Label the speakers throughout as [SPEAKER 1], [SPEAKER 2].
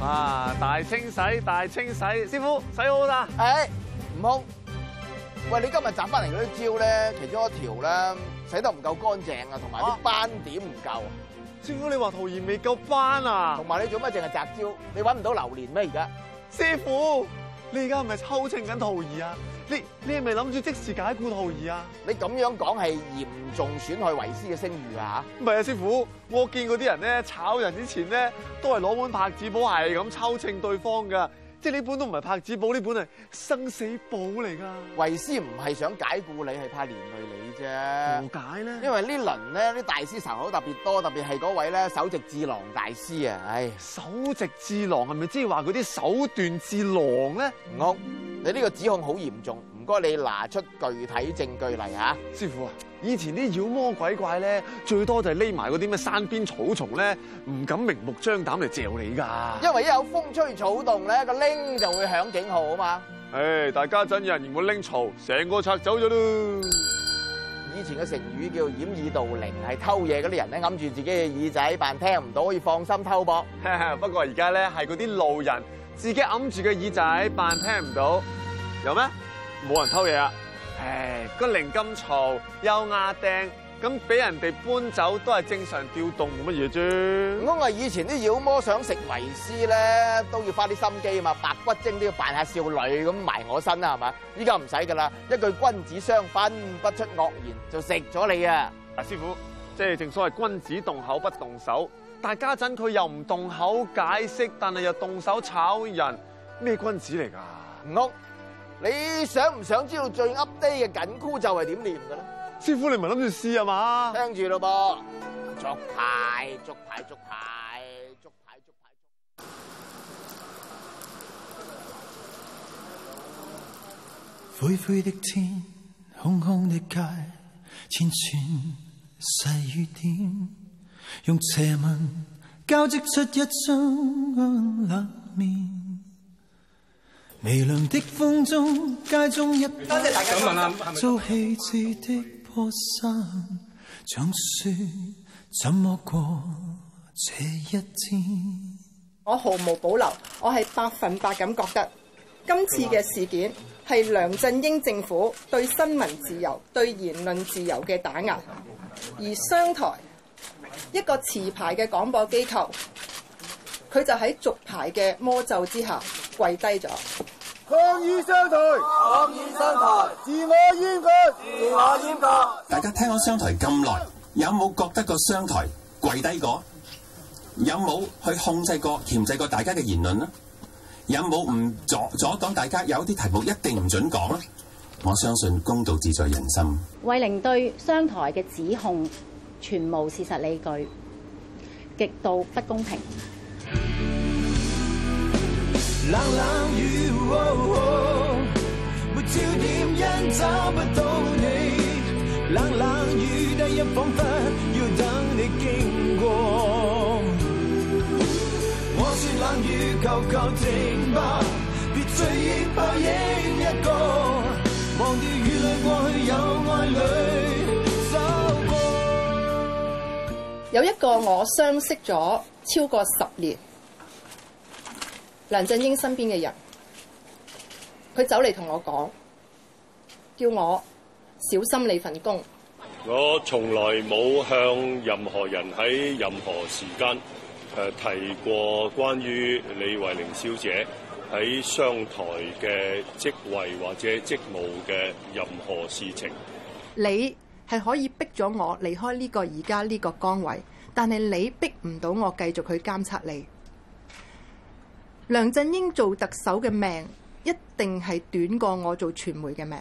[SPEAKER 1] 啊！大清洗，大清洗，師傅洗好啦。
[SPEAKER 2] 悟空，喂，你今日摘翻嚟嗰啲蕉咧，其中一條咧洗得唔夠乾淨啊，同埋啲斑點唔夠啊。
[SPEAKER 1] 師傅，你話桃兒未夠斑啊？
[SPEAKER 2] 同埋你做乜淨係摘蕉？你搵唔到榴蓮咩？而家？
[SPEAKER 1] 師傅，你而家係咪抽秤緊桃兒啊？你係咪諗住即時解僱桃兒啊？
[SPEAKER 2] 你咁樣講係嚴重損害為師嘅聲譽啊！
[SPEAKER 1] 唔係啊，師傅，我見嗰啲人咧炒人之前咧，都係攞本拍子簿係咁抽秤對方噶。即係呢本都唔係拍子簿，呢本係生死簿嚟噶。
[SPEAKER 2] 為師唔係想解僱你，係怕連累你啫。
[SPEAKER 1] 何解咧？
[SPEAKER 2] 因為呢輪咧啲大師仇口特別多，特別係嗰位咧首席智囊大師啊！唉，
[SPEAKER 1] 首席智囊係咪即係話嗰啲手段智囊咧？
[SPEAKER 2] 悟空，你呢個指控好嚴重，唔該你拿出具體證據嚟嚇。
[SPEAKER 1] 師傅啊，以前啲妖魔鬼怪咧，最多就係匿埋嗰啲咩山邊草叢咧，唔敢明目張膽嚟嚼你㗎。
[SPEAKER 2] 因為一有風吹草動咧，個鈴就會響警號啊嘛。
[SPEAKER 1] 唉，大家陣有人嫌我拎嘈，成個拆走咗咯。
[SPEAKER 2] 以前嘅成語叫掩耳盜鈴，係偷嘢嗰啲人咧揞住自己嘅耳仔扮聽唔到，可以放心偷博。
[SPEAKER 1] 不過而家咧係嗰啲路人自己揞住個耳仔扮聽唔到，有咩？冇人偷嘢啊！唉，個鈴咁嘈又壓釘，咁俾人哋搬走都係正常調動，冇乜嘢啫。
[SPEAKER 2] 唔通係以前啲妖魔想食為師咧，都要花啲心機啊嘛，白骨精都要扮下少女咁埋我身啦，係嘛？依家唔使噶啦，一句君子相分，不出惡言就食咗你啊！
[SPEAKER 1] 嗱，師傅，即係正所謂君子動口不動手，但係家陣佢又唔動口解釋，但係又動手炒人，咩君子嚟㗎？
[SPEAKER 2] 悟空，你想唔想知道最 update 嘅緊箍咒係點念嘅咧？
[SPEAKER 1] 師傅，你唔係諗住試係嘛？
[SPEAKER 2] 聽住咯噃，捉牌，捉牌，捉牌，捉牌，捉牌。
[SPEAKER 3] 灰灰的天，空空的街，千串細雨點，用斜紋交織出一張冷面。微涼的風中，街中一多謝大家。想問下，遭棄置的破衫，像雪怎麼過這一天？
[SPEAKER 4] 我毫無保留，我係100%咁覺得今次嘅事件係梁振英政府對新聞自由、對言論自由嘅打壓，而商台一個持牌嘅廣播機構，佢就喺續牌嘅魔咒之下跪低咗。
[SPEAKER 2] 抗議商台，抗議商台，自我閹割，自我閹割。
[SPEAKER 5] 大家聽咗商台咁耐，有冇覺得個商台跪低過？有冇去控制過、鉗制過大家嘅言論呢？有冇唔阻擋大家有啲題目一定唔准講呢？我相信公道自在人心。
[SPEAKER 6] 慧玲對商台嘅指控全無事實理據，極度不公平。
[SPEAKER 3] 冷冷雨，沒焦點因找不到你。冷冷雨，第一彷彿要等你經過。我說冷雨，求求停吧，別追憶抱影一個，忘掉雨裏過去有愛侶走過。
[SPEAKER 4] 有一個我相識咗超過10年。梁振英身邊嘅人，佢走嚟同我講，叫我小心你份工。
[SPEAKER 7] 我從來冇向任何人喺任何時間提過關於李慧玲小姐喺商台嘅職位或者職務嘅任何事情。
[SPEAKER 4] 你係可以逼咗我離開呢個而家呢個崗位，但係你逼唔到我繼續去監察你。梁振英做特首嘅命一定係短過我做傳媒嘅命。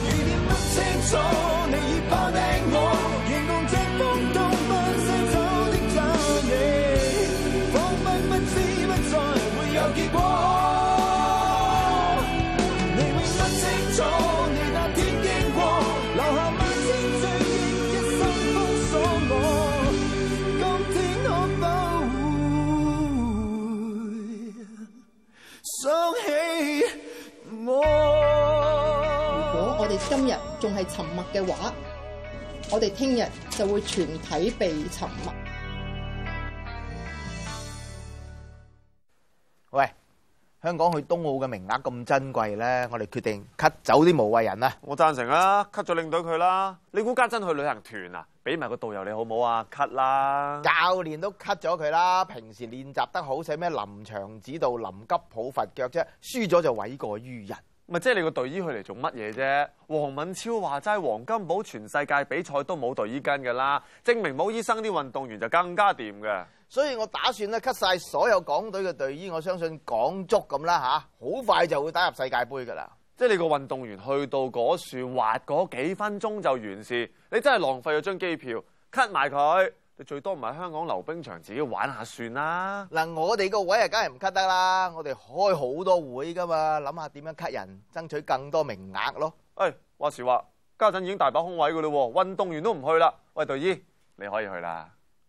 [SPEAKER 4] 如果我哋今日仲係沉默嘅話，我哋聽日就會全體被沉默。
[SPEAKER 2] 喂，香港去冬奧嘅名額咁珍貴咧，我哋決定 cut 走啲無謂人啊！
[SPEAKER 1] 我贊成啊，cut 咗領隊佢啦。你估家珍去旅行團啊？俾埋個導遊你好唔好啊 ？cut 啦！
[SPEAKER 2] 教練都 cut 咗佢啦，平時練習得好，使咩臨場指導、臨急抱佛腳啫？輸咗就諉過於人。
[SPEAKER 1] 咪即係你個隊醫去嚟做乜嘢啫？黃敏超話齋黃金寶全世界比賽都冇隊醫跟㗎啦，證明冇醫生啲運動員就更加掂嘅。
[SPEAKER 2] 所以我打算咧 cut 晒所有港隊嘅隊醫，我相信港足咁啦嚇，好快就會打入世界盃㗎啦。
[SPEAKER 1] 即係你個運動員去到嗰樹滑嗰幾分鐘就完事，你真係浪費咗張機票 cut 埋佢。你最多唔係香港溜冰場自己玩下算啦。
[SPEAKER 2] 嗱，我哋個位啊，梗係唔 cut 得啦。我哋開好多會㗎嘛，諗下點樣 cut 人，爭取更多名額咯。
[SPEAKER 1] 話時話家陣已經大把空位㗎啦，運動員都唔去啦。喂，隊醫你可以去啦。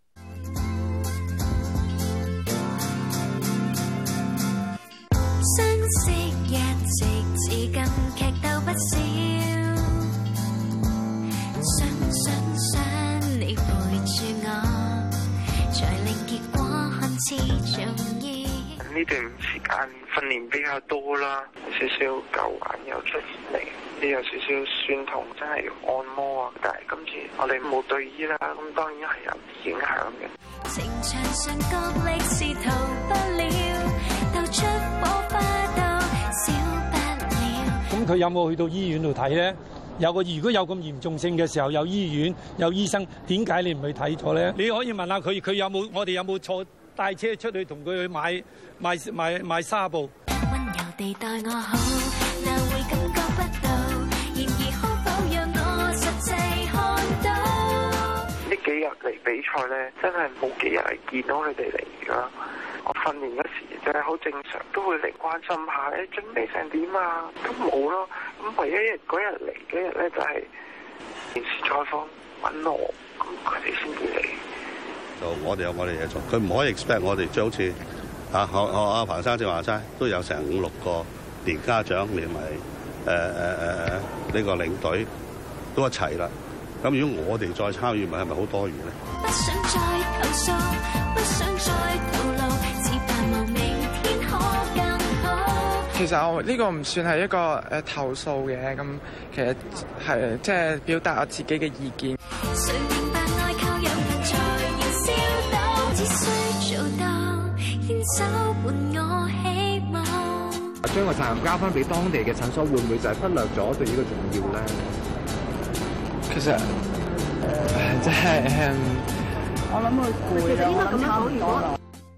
[SPEAKER 8] 相識一直至今劇鬥不少，想你陪住我，才令結果看似重要。
[SPEAKER 9] 呢段時間訓練比較多啦，有少少舊患又出現嚟，呢有少少酸痛，真係要按摩啊！但係今次我哋冇隊醫啦，咁當然係有影響嘅。
[SPEAKER 8] 情場上角力是逃不了，鬥出火花到少不了。
[SPEAKER 10] 咁佢有冇去到醫院度睇咧？如果有咁嚴重性嘅時候，有醫院有醫生，點解你唔去睇咗咧？你可以問下佢有冇，我哋有冇坐帶車出去同佢去買紗布。
[SPEAKER 8] 溫柔地待我好，哪會感覺不到？然而可否讓我實際看到？
[SPEAKER 9] 呢幾日嚟比賽咧，真係冇幾日係見到佢哋嚟㗎。我訓練嗰時就係好正常，都會嚟關心下，準備成點啊？都冇咯。咁唯一嗰日嚟嗰日咧，就係電視採訪揾我，咁佢哋先至嚟。
[SPEAKER 11] 我哋有我哋嘢做，佢唔可以 expect 我哋，即係好似阿彭生正話齋，都有成5-6個連家長連埋呢個領隊都一齊啦。咁如果我哋再參與，咪係咪好多餘咧？
[SPEAKER 8] 不想再投訴，不想再透露，只盼望明天可更好。
[SPEAKER 12] 其實我呢個唔算係一個投訴嘅，咁其實係即係表達我自己嘅意見。
[SPEAKER 8] 誰明白愛靠有人才燃燒到，只需做到牽手伴我希望。
[SPEAKER 13] 將個責任交翻俾當地嘅診所，會唔會就係忽略咗對呢個重要咧？
[SPEAKER 12] 其實即係
[SPEAKER 14] 我諗佢攰啊，我諗差唔多啦。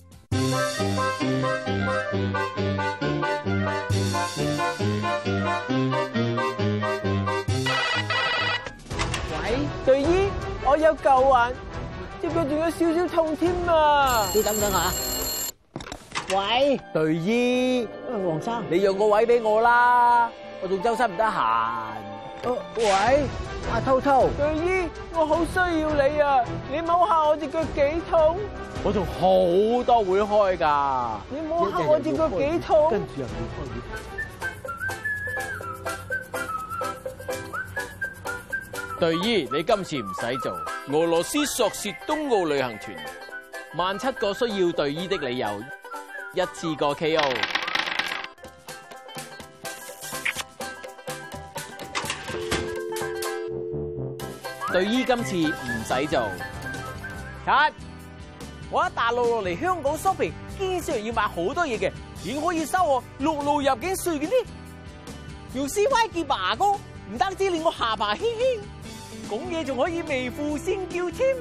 [SPEAKER 15] 喂，隊醫，我有舊患，隻腳仲有少少痛添啊！
[SPEAKER 16] 你等等下。喂，
[SPEAKER 15] 隊醫，
[SPEAKER 16] 黃生，
[SPEAKER 15] 你讓個位俾我啦，我仲周身唔得閒。
[SPEAKER 16] 喂，阿濤濤，
[SPEAKER 15] 隊醫，我好需要你啊！你摸下我隻腳幾痛？我仲好多會開㗎。你摸下我隻腳幾痛？
[SPEAKER 16] 跟住又要開。
[SPEAKER 17] 隊醫，你今次唔使做。俄羅斯索契冬奧旅行團，17個需要隊醫的理由，一次過 KO。隊醫今次唔使做。
[SPEAKER 15] cut！我喺大陸落嚟香港 shopping，經常要買好多嘢嘅，點可以收我陸路入境稅嘅呢？用 CY 潔白牙膏，唔單止令我下巴輕輕，講嘢仲可以微負聲叫添。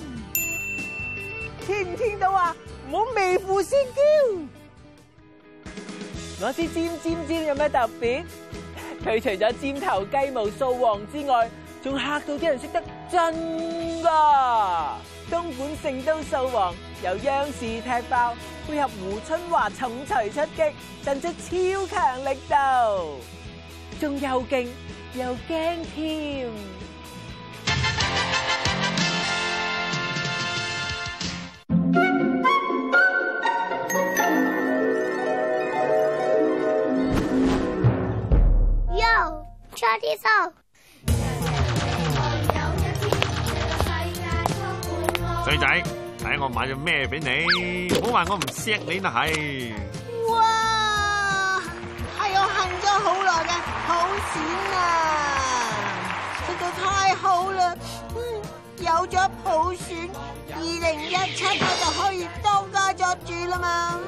[SPEAKER 15] 聽唔聽到啊？唔好微負聲叫。我知尖有咩特別？佢除咗尖頭雞毛掃黃之外，仲嚇到啲人識得真㗎！東莞聖都掃黃由央視踢爆，配合胡春華重錘出擊，震出超強力度，仲又勁又驚添。
[SPEAKER 18] Yo，try this out。
[SPEAKER 1] 衰仔，睇我買咗咩俾你，唔好話我唔錫你啦係。
[SPEAKER 18] 哇！
[SPEAKER 19] 選啊！實在太好啦！有咗普選，2017我就可以當家作主啦嘛！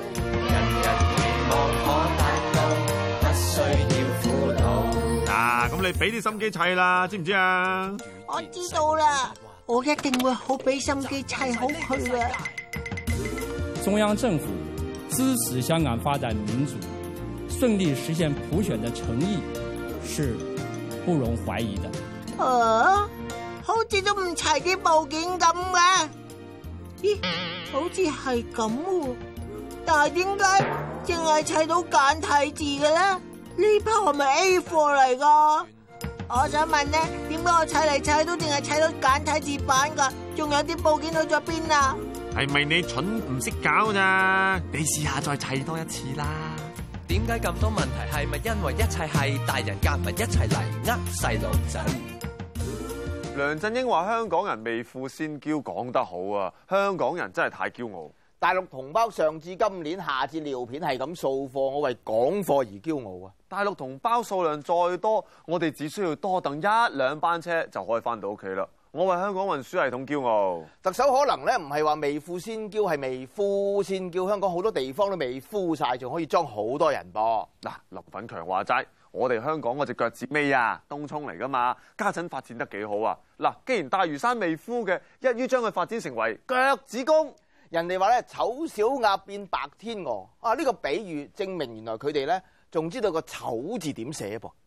[SPEAKER 1] 嗱，咁你俾啲心機砌啦，知唔知啊？
[SPEAKER 19] 我知道啦，我一定會好俾心機砌好佢嘅。
[SPEAKER 20] 中央政府支持香港發展民主，順利實現普選的誠意是不容懷疑的。
[SPEAKER 19] 好似都唔齊啲部件咁嘅。咦，好似係咁喎，但係點解淨係砌到簡體字嘅咧？呢包係咪 A 貨嚟噶？我想問咧，點解我砌嚟砌都淨係砌到簡體字版噶？仲有啲部件去咗邊啊？
[SPEAKER 1] 係咪你蠢唔識搞咋？你試下再砌多一次啦。
[SPEAKER 21] 點解咁多問題？係咪因為一切係大人夾埋一齊嚟呃細路仔？
[SPEAKER 1] 梁振英話香港人未富先驕，講得好啊！香港人真係太驕傲。
[SPEAKER 2] 大陸同胞上至今年，下至尿片係咁掃貨，我為港貨而驕傲啊！
[SPEAKER 1] 大陸同胞數量再多，我哋只需要多等1-2班車就可以翻到屋企啦。我為香港運輸系統驕傲。
[SPEAKER 2] 特首可能咧唔係話未富先驕，係未富先驕。香港好多地方都未富晒，仲可以裝好多人噃。
[SPEAKER 1] 嗱，林奮強話齋，我哋香港嗰隻腳趾尾啊，東涌嚟噶嘛，家陣發展得幾好啊！嗱，既然大嶼山未富嘅，一於將佢發展成為腳趾公。
[SPEAKER 2] 人哋話咧醜小鴨變白天鵝啊！呢個比喻證明原來佢哋咧仲知道個醜字點寫噃。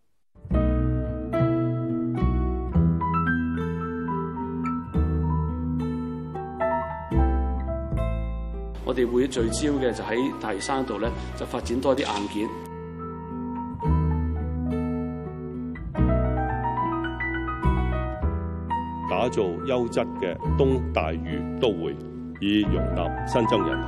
[SPEAKER 22] 我哋會聚焦嘅就喺大嶼山度咧，就發展多啲硬件，
[SPEAKER 7] 打造優質嘅東大嶼都會，以容納新增人口。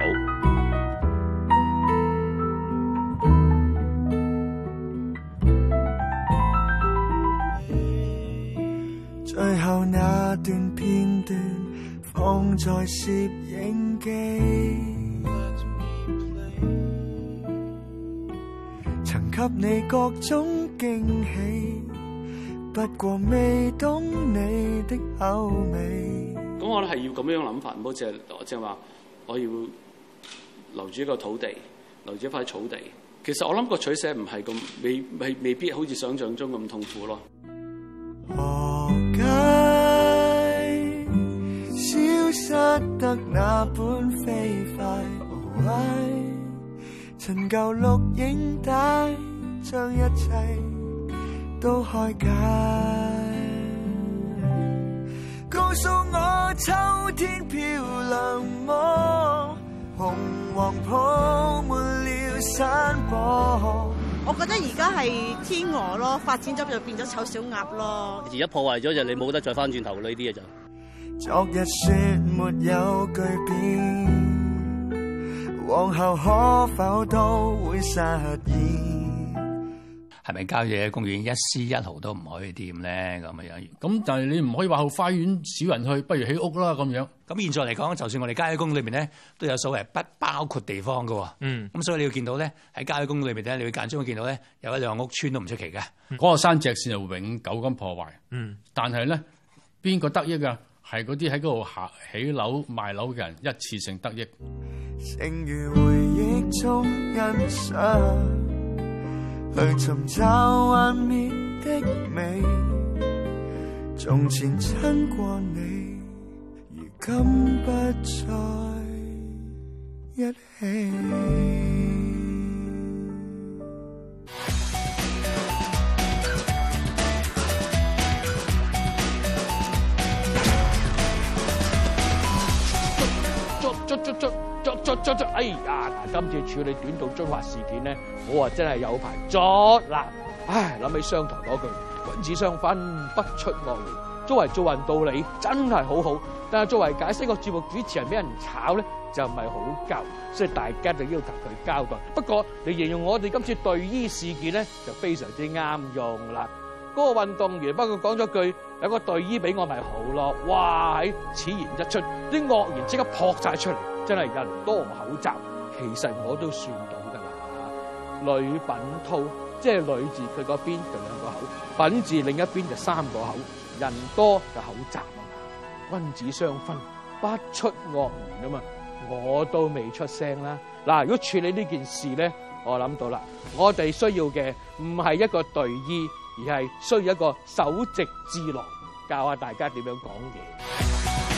[SPEAKER 3] 最後那段片段放在攝影機，曾給你各種驚喜，不過未懂你的口味。
[SPEAKER 22] 咁我咧係要咁樣諗法，唔好淨係話我要留住一個土地，留住一塊草地。其實我諗個取捨唔係咁未必好似想象中咁痛苦咯。
[SPEAKER 3] 何解消失得那般飛快？陳舊錄影帶將一切都開解，告訴我秋天漂亮麼？紅黃鋪滿了山坡。
[SPEAKER 23] 我覺得而家係天鵝咯，發展咗就變咗醜小鴨咯。
[SPEAKER 24] 而家破壞咗就你冇得再翻轉頭呢啲嘢就。
[SPEAKER 3] 昨日說沒有巨變，往後可否都會實現？
[SPEAKER 25] 係咪郊野公園一絲一毫都唔可以掂咧？咁樣
[SPEAKER 26] 咁但係你唔可以話後花園少人去，不如起屋啦咁樣。
[SPEAKER 25] 咁現在嚟講，就算我哋郊野公園裏面咧，都有所謂不包括地方㗎喎。咁所以你要見到咧，喺郊野公園裏面咧，你會間中會見到咧有1-2個屋村都唔出奇嘅。
[SPEAKER 26] 嗰個山脊線係永久咁破壞。但係咧邊個得益啊？係嗰啲喺嗰度起樓賣樓嘅人一次性得益。
[SPEAKER 3] 正如回憶中欣賞，去尋找幻滅的美，從前親過你，如今不再一起。
[SPEAKER 27] 哎呀！嗱，今次處理短道中華事件咧，我真係有排作啦。唉，諗起商台嗰句君子相分，不出惡言。作為做人道理真係好好，但係作為解釋個節目主持人俾人炒咧，就唔係好夠，所以大家就要求佢交代。不過你形容我哋今次隊醫事件咧，就非常之啱用啦。嗰個運動員不過講咗句有個隊醫俾我咪好咯，哇！喺此言一出，啲惡言即刻撲晒出嚟，真係人多口雜。其實我都算到㗎啦，呂品濤即係女字佢嗰邊就2個口，品字另一邊就3個口，人多就口雜啊嘛。君子相分，不出惡言啊嘛。我都未出聲啦。嗱，如果處理呢件事咧，我諗到啦，我哋需要嘅唔係一個隊醫，而係需要一個首席智囊，教下大家點樣講嘢。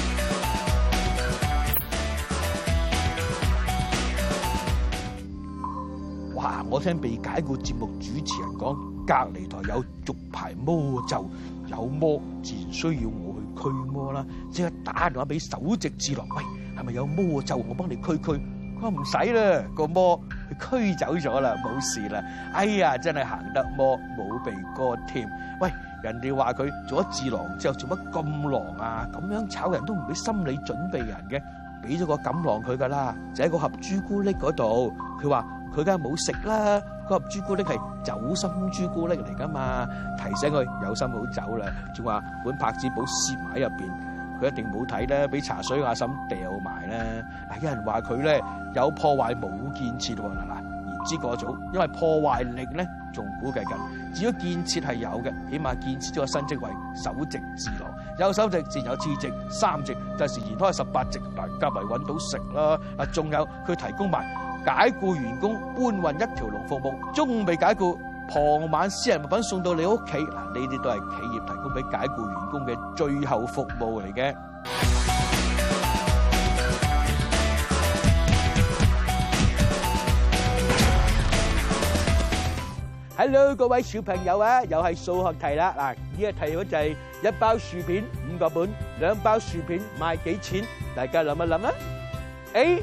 [SPEAKER 27] 哇！我聽被解僱節目主持人講，隔離台有續牌魔咒，有魔自然需要我去驅魔啦。即刻打電話俾首席智囊，喂，係咪有魔咒？我幫你驅。佢話唔使啦，個魔佢驅走咗啦，冇事啦。哎呀，真係行得魔冇鼻哥添。喂，人哋話佢做咗智囊之後做乜咁狼啊？咁樣炒人都唔俾心理準備人嘅，俾咗個錦囊佢噶啦，就喺個盒朱古力嗰度。佢話佢梗係冇食啦，個盒朱古力係酒心朱古力嚟噶嘛，提醒佢有心好走啦。仲話本拍子簿攝埋喺入邊。佢一定冇睇啦，俾茶水阿嬸掉埋啦。嗱，有人話佢咧有破壞冇建設喎。嗱，言之過早，因為破壞力咧仲估計緊。至於建設係有嘅，起碼建設咗個新職位首席智囊，有首席自然有次席、3席，第時延開18席，大家咪揾到食啦。嗱，仲有佢提供埋解僱員工搬運一條龍服務，中午未解僱，傍晚私人物品送到你屋企。嗱，呢啲都係企業提供俾解僱員工嘅最後服務嚟嘅。Hello， 各位小朋友啊，又係數學題啦。嗱，呢個題目就係1包薯片5個本，2包薯片賣幾錢？大家諗一諗啊。A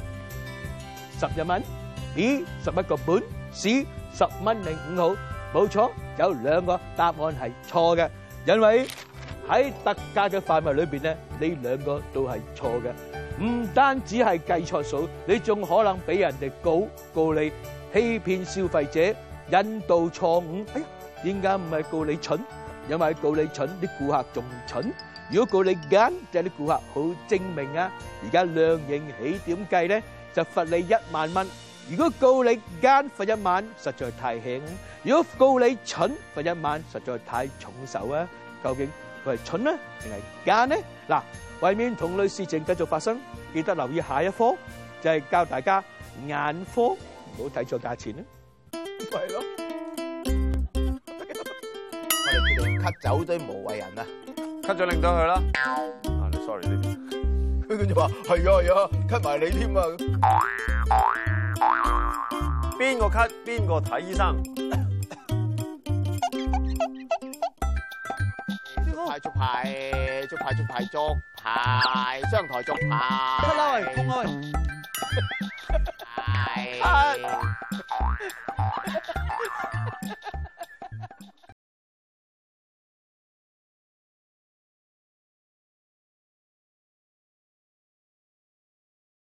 [SPEAKER 27] 11蚊，B 11個本，C 10蚊05毫。冇錯，有2個答案係錯嘅，因為喺特價嘅範圍裏邊咧，呢2個都係錯嘅。唔單止係計錯數，你仲可能俾人哋告你欺騙消費者、引導錯誤。哎呀，點解唔係告你蠢？因為告你蠢，啲顧客仲蠢。如果告你奸，就係啲顧客好精明啊。而家量刑起點計咧，就罰你1萬蚊。如果告你奸罰1萬，實在太輕；如果告你蠢罰1萬，實在太重手啊！究竟佢係蠢呢，定係奸呢？嗱，為免同類事情繼續發生，記得留意下一科，就係教大家眼科，唔好睇錯價錢啦。係咯，
[SPEAKER 2] 我哋決定 cut 走啲無謂人啊
[SPEAKER 1] ，cut 咗令到佢啦。啊，你 sorry 呢邊，
[SPEAKER 2] 佢就話係啊，cut 埋你添啊。
[SPEAKER 1] 邊個 cut 邊個睇醫生？
[SPEAKER 2] 捉牌，商台捉牌。
[SPEAKER 1] cut 啦喂，公開。